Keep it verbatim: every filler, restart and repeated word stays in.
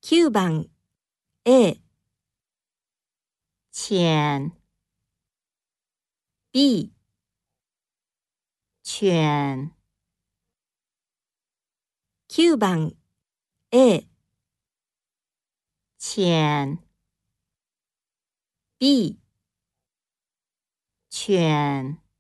きゅうばん A、 浅、 B、 犬、 きゅうばん A、 浅、 B、 犬。